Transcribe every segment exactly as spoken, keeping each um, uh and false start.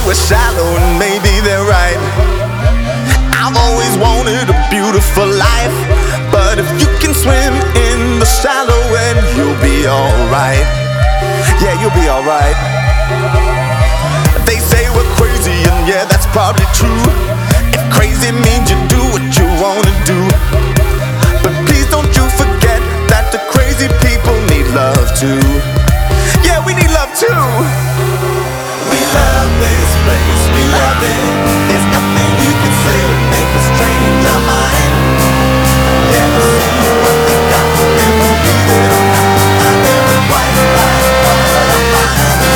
we're shallow and maybe they're right. I've always wanted a beautiful life, but if you can swim in the shallow end, you'll be alright. Yeah, you'll be alright. They say we're crazy, and yeah, that's probably true. If crazy means you do what you wanna do, but please don't you forget that the crazy people need love too. Yeah, we need love too. We love this place, we love it. There's nothing you can say to make us change our mind. Never see what we got, and believe it or not, I never quite like what I find.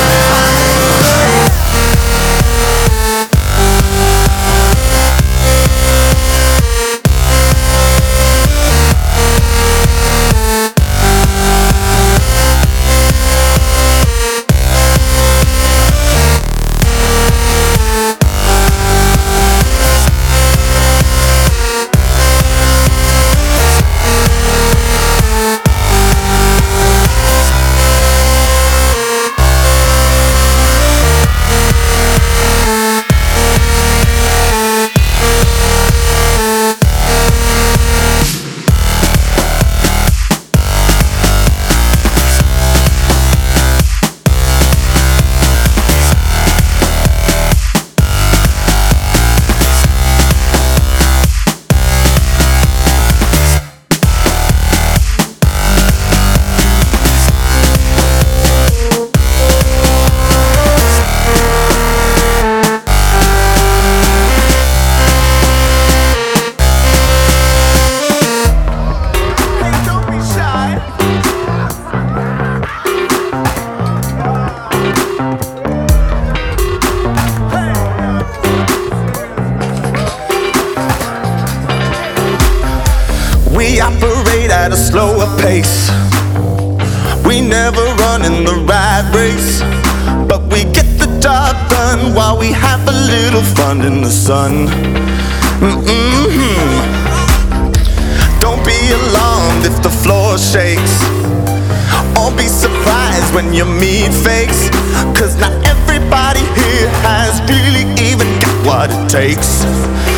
We operate at a slower pace. We never run in the rat race, but we get the job done while we have a little fun in the sun. Mm-hmm. Don't be alarmed if the floor shakes, or be surprised when your meat fakes, cause not everybody here has really even got what it takes.